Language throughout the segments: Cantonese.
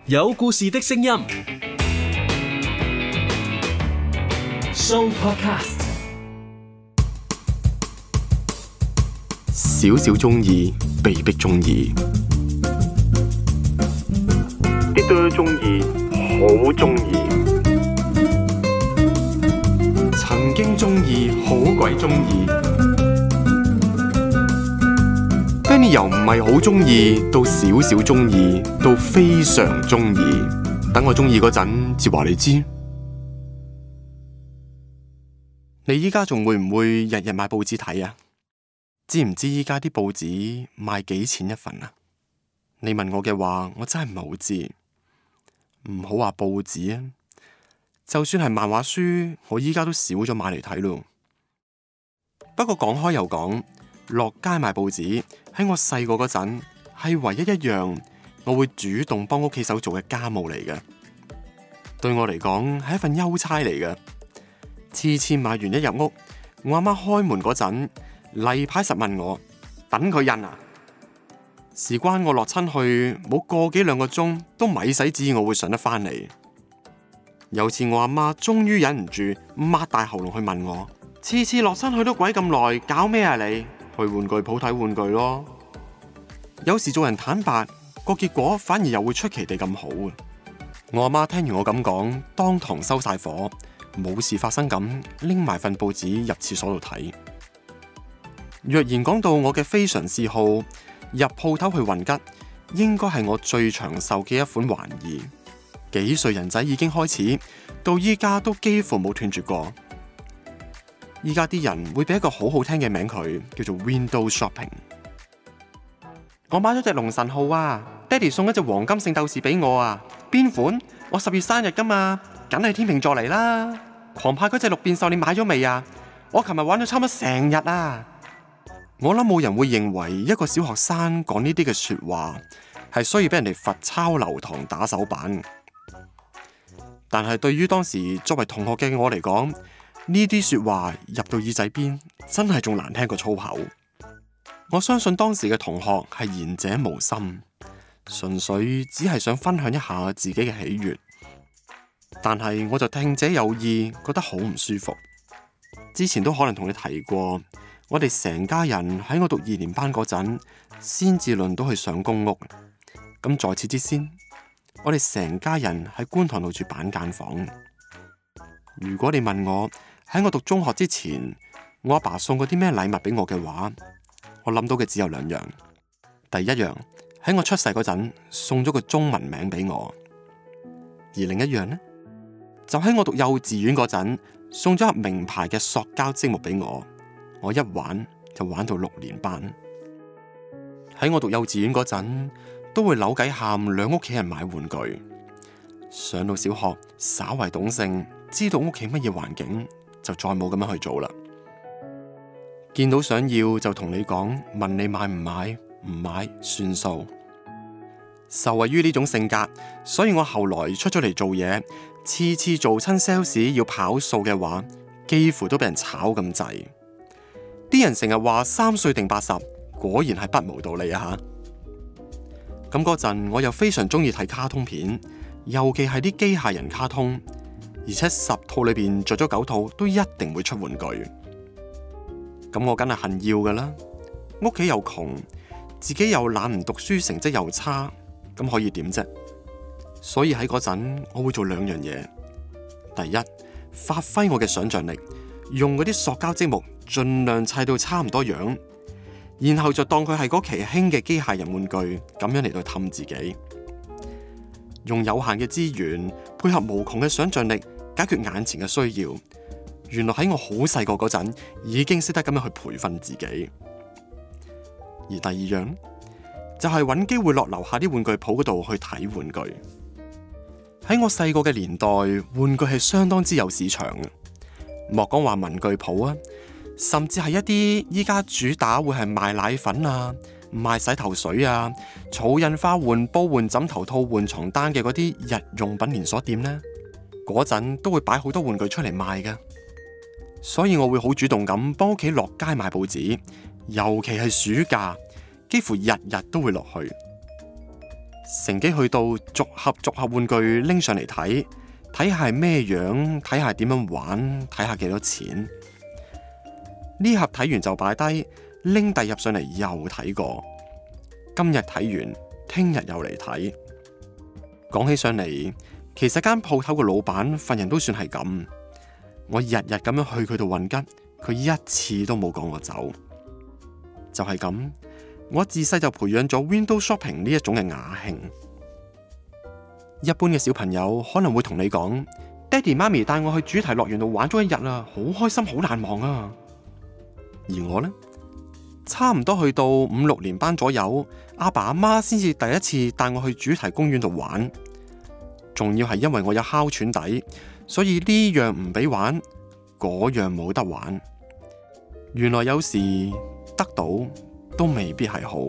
有故事的聲音 Show Podcast。 少少中意，被逼中意；啲多中意，好中意；曾經中意，好鬼中意。Benny 由唔係好中意，到少少中意，到非常中意。等我中意嗰陣，至話你知。你依家仲會唔會日日買報紙睇啊？知唔知依家啲報紙賣幾錢一份啊？你問我嘅話，我真係唔係好知。唔好話報紙啊，就算係漫畫書，我依家都少咗買嚟睇咯。不過講開又講，落街買報紙喺我細個嗰陣係唯一一樣我會主動幫屋企手做嘅家務嚟嘅。對我嚟講係一份優差嚟嘅。次次買完一入屋，我阿媽開門嗰陣，例牌實問我等佢印啊。事關我落親去冇個幾兩個鐘，都咪使指意我會上得返嚟。有次我阿媽終於忍唔住，擘大喉嚨去問我：次次落親去都鬼咁耐，搞咩啊你？去玩具鋪睇玩具咯。有時做人坦白，個結果反而又會出奇地咁好。我阿媽聽完我咁講，當堂收晒火，冇事發生咁拎埋份報紙入廁所度睇。若然講到我嘅非常嗜好，入鋪頭去混吉，應該係我最長壽嘅一款玩意。幾歲人仔已經開始，到依家都幾乎冇斷絕過。依家啲人會俾一個好好聽嘅名佢，叫做 Window Shopping。我買咗隻龍神號啊，爹哋送一隻黃金聖鬥士俾我啊。邊款？我10月生日噶嘛，梗係天秤座嚟啦。狂派嗰隻六變獸你買咗未啊？我琴日玩咗差唔多成日啊。我諗冇人會認為一個小學生講呢啲嘅說話係需要俾人哋罰抄留堂打手板。但係對於當時作為同學嘅我嚟講，呢啲說話入到耳仔邊，真係仲難聽過粗口。我相信當時嘅同學係言者無心，純粹只係想分享一下自己嘅喜悅。但係我就聽者有意，覺得好唔舒服。之前都可能同你提過，我哋成家人喺我讀2年班嗰陣，先至輪到去上公屋。咁在此之先，我哋成家人喺觀塘度住板間房。如果你問我喺我讀中學之前，我阿爸送過啲咩禮物俾我嘅話，我諗到嘅只有2樣。第一樣，喺我出世嗰陣送咗個中文名俾我，而另一樣呢，就喺我讀幼稚園嗰陣送咗盒名牌嘅塑膠積木俾我。我一玩就玩到6年班。喺我讀幼稚園嗰陣，都會扭計喊兩屋企人買玩具。上到小學，稍為懂性，知道屋企乜嘢環境，就再冇咁樣去做啦。見到想要就同你講，問你買唔買，唔買算數。受惠於呢種性格，所以我後來出咗嚟做嘢，次次做親 sales 要跑數嘅話，幾乎都俾人炒咁滯。啲人成日話3歲定80，果然係不無道理啊吓。咁嗰陣我又非常中意睇卡通片，尤其係啲機械人卡通，而且10套裏邊着咗9套都一定會出玩具。咁我梗係恨要噶啦，屋企又窮，自己又懶唔讀書，成績又差，咁可以點啫？所以喺嗰陣我會做2樣嘢。第一，發揮我嘅想象力，用嗰啲塑膠積木盡量砌到差唔多樣，然後就當佢係嗰期興嘅機械人玩具，咁樣嚟到氹自己。用有限嘅資源配合無窮嘅想象力，解決眼前嘅需要。原來喺我好細個嗰陣已經識得咁樣去培訓自己。而第2樣就係揾機會落樓下啲玩具鋪嗰度去睇玩具。喺我細個嘅年代，玩具係相當之有市場嘅，莫講話文具鋪啊，甚至係一啲依家主打會係賣奶粉啊、賣洗頭水啊、儲印花換煲換枕頭套換床單嘅嗰啲日用品連鎖店呢，嗰陣都會擺好多玩具出嚟賣㗎。所以我會好主動咁幫屋企落街買報紙，尤其係暑假，幾乎日日都會落去。 乘機去到逐盒玩具拎上嚟睇，睇下係咩樣，睇下點樣玩，睇下幾多錢。呢盒睇完就擺低，拎第二盒上嚟又睇過。今日睇完，聽日又嚟睇。講起上嚟，其實間鋪頭嘅老闆份人都算係咁。我日日咁樣去佢度混吉，佢一次都冇趕我走。就係咁，我自細就培養咗 window shopping 呢一種嘅雅興。一般嘅小朋友可能會同你講：爹哋媽咪帶我去主題樂園度玩咗一日啦，好開心，好難忘啊！而我呢，差唔多去到5、6年班左右，阿爸阿媽先至第一次帶我去主題公園度玩，仲要係因為我有哮喘底，所以呢樣唔俾玩，嗰樣冇得玩。原來有時得到都未必係好。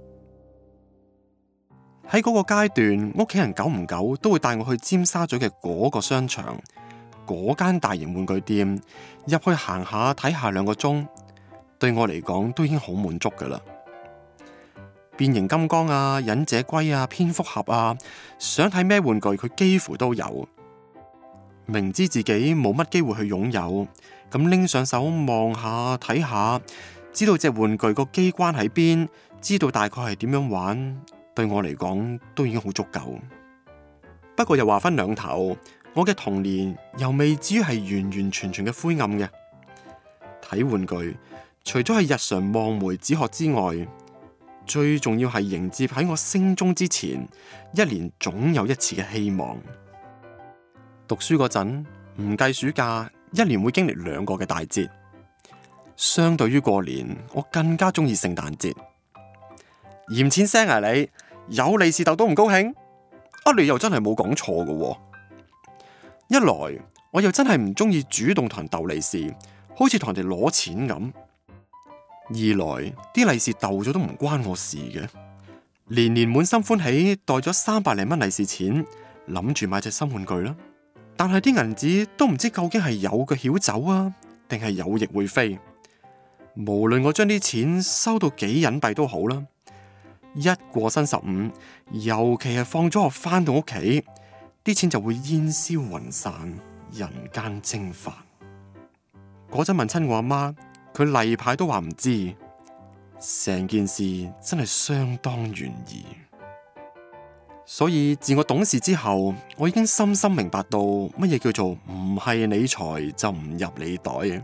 喺嗰個階段，屋企人久唔久都會帶我去尖沙咀嘅嗰個商場，嗰間大型玩具店，入去行下睇下2個鐘，對我嚟講都已經好滿足噶啦。變形金剛啊、忍者龜啊、蝙蝠俠啊，想睇咩玩具佢幾乎都有。明知自己冇乜機會去擁有，咁拎上手望下睇下，知道隻玩具個機關喺邊，知道大概係點樣玩，對我嚟講都已經好足夠。不過又話分兩頭，我嘅童年又未至於係完完全全嘅灰暗嘅。睇玩具除咗係日常望梅止渴之外，最重要係迎接喺我升中之前1年總有一次嘅希望。讀書嗰陣唔計暑假，1年會經歷2個嘅大節。相對於過年，我更加中意聖誕節。嫌錢聲啊你！有利是逗都唔高興？你又真係冇講錯㗎喎。一來我又真係唔中意主動同人逗利是，好似同人哋攞錢咁；二來啲利是逗咗都唔關我事嘅。年年滿心歡喜袋咗300零蚊利是錢，諗住買隻新玩具啦。但係啲銀紙都唔知究竟係有腳曉走啊，定係有翼會飛。無論我將啲錢收到幾隱蔽都好啦，一過新15，尤其係放咗學返到屋企，啲錢就會煙消雲散，人間蒸發。嗰陣問親我阿媽，佢例牌都話唔知，成件事真係相當懸疑。所以自我懂事之後，我已經深深明白到乜嘢叫做唔係你財就唔入你袋嘅。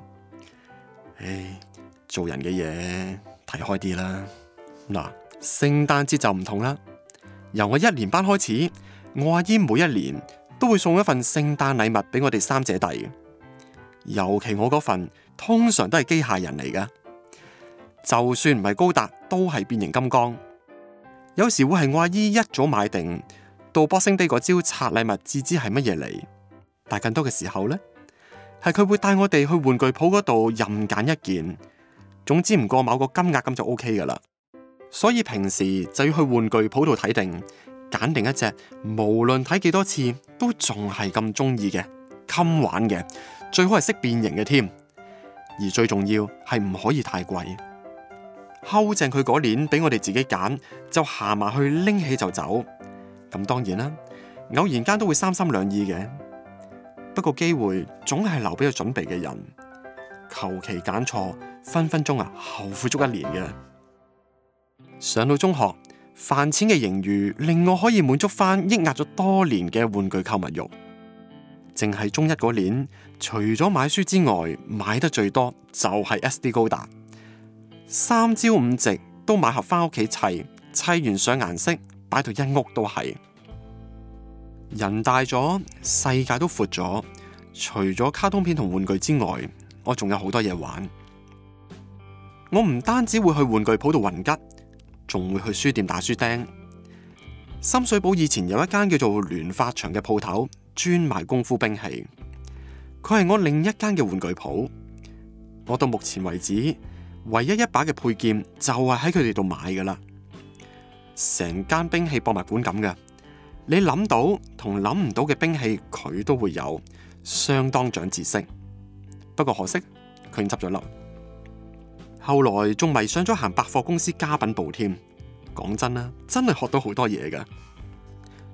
做人嘅嘢睇開啲啦。嗱，聖誕節就唔同啦。由我1年班開始，我阿姨每一年都會送一份聖誕禮物俾我哋3姐弟。尤其我嗰份通常都係機械人嚟噶，就算唔係高達，都係變形金剛。有時會係我阿姨一早買定，到 Boxing Day 嗰朝拆禮物至知係乜嘢嚟。但更多嘅時候呢，係佢會帶我哋去玩具鋪嗰度任揀一件，總之唔過某個金額咁就 OK 噶啦。所以平時就要去玩具鋪度睇定，揀定一隻無論睇幾多次都仲係咁中意嘅，襟玩嘅，最好係識變形嘅添。而最重要係唔可以太貴。睺正佢嗰年俾我哋自己揀，就行埋去拎起就走。咁當然啦，偶然間都會三心兩意嘅。不過機會總係留俾有準備嘅人，求其揀錯，分分鐘後悔足1年嘅。上到中學，飯錢嘅盈餘令我可以滿足翻抑壓咗多年嘅玩具購物慾。淨係中1嗰年，除咗買書之外，買得最多就係 SD 高達。3朝5夕都買盒翻屋企砌，砌完上顏色，擺到一屋都係。人大咗，世界都闊咗，除咗卡通片同玩具之外，我仲有好多嘢玩。我唔單止會去玩具鋪度混吉，仲會去書店打書釘。深水埗以前有一間叫做聯發場嘅鋪頭，專賣功夫兵器。佢係我另一間嘅玩具鋪。我到目前為止，唯一一把嘅配件就係喺佢哋度買噶啦。成間兵器博物館咁嘅，你諗到同諗唔到嘅兵器佢都會有，相當長知識。不過可惜佢已經執咗笠。後來仲迷上咗行百貨公司家品部添。講真啦，真係學到好多嘢噶。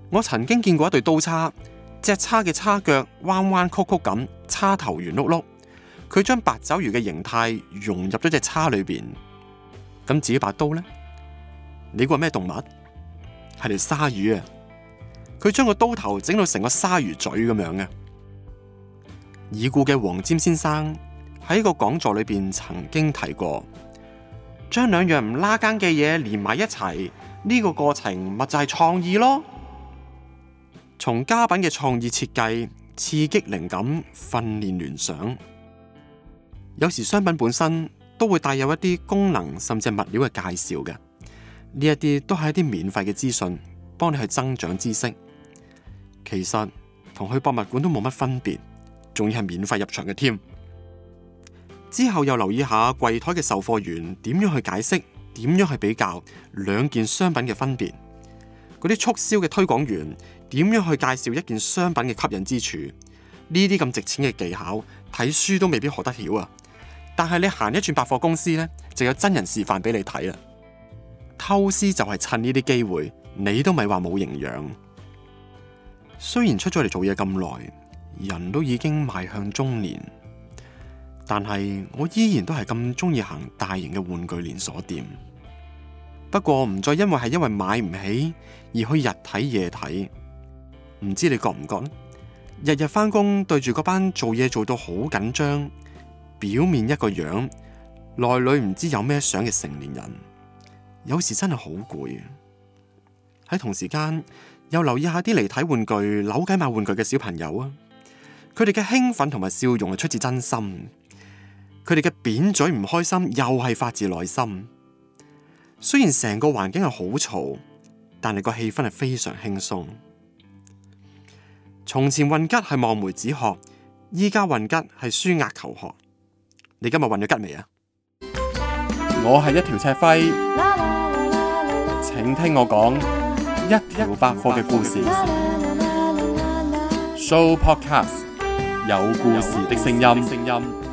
我曾經見過一對刀叉，隻叉嘅叉腳彎彎曲曲咁，叉頭圓碌碌。佢將八爪魚嘅形態融入咗隻叉裏邊。咁至於把刀呢？你估係咩動物？係條鯊魚啊！佢將個刀頭整到成個鯊魚嘴咁樣嘅。已故嘅黃霑先生喺個講座裏邊曾經提過，將兩樣唔拉更嘅嘢連埋一齊，呢個過程咪就係創意咯。從家品嘅創意設計、刺激靈感、訓練聯想，有時商品本身都會帶有一啲功能甚至係物料嘅介紹嘅。呢一啲都係一啲免費嘅資訊，幫你去增長知識。其實同去博物館都冇乜分別，仲要係免費入場嘅添。之後又留意下櫃台嘅售貨員點樣去解釋，點樣去比較兩件商品嘅分別。嗰啲促銷嘅推廣員點樣去介紹一件商品嘅吸引之處？呢啲咁值錢嘅技巧，睇書都未必學得曉啊！但係你行一轉百貨公司呢，就有真人示範俾你睇啦。偷師就係趁呢啲機會，你都咪話冇營養。雖然出咗嚟做嘢咁耐，人都已經邁向中年，但係我依然都係咁中意行大型嘅玩具連鎖店。不過唔再因為買唔起而去日睇夜睇。唔知你覺唔覺呢？日日返工對住嗰班做嘢做到好緊張，表面一個樣，內裏唔知有咩想嘅成年人，有時真係好攰。喺同時間又留意下啲嚟睇玩具、扭計買玩具嘅小朋友啊，佢哋嘅興奮同埋笑容係出自真心，佢哋嘅扁嘴唔開心又係發自內心。雖然成個環境係好嘈，但係個氣氛係非常輕鬆。從前運吉係望梅止渴，依家運吉係舒壓求學。你今日運咗吉未啊？我係一條赤輝，請聽我講一條百貨嘅故事。Show Podcast 有故事的聲音。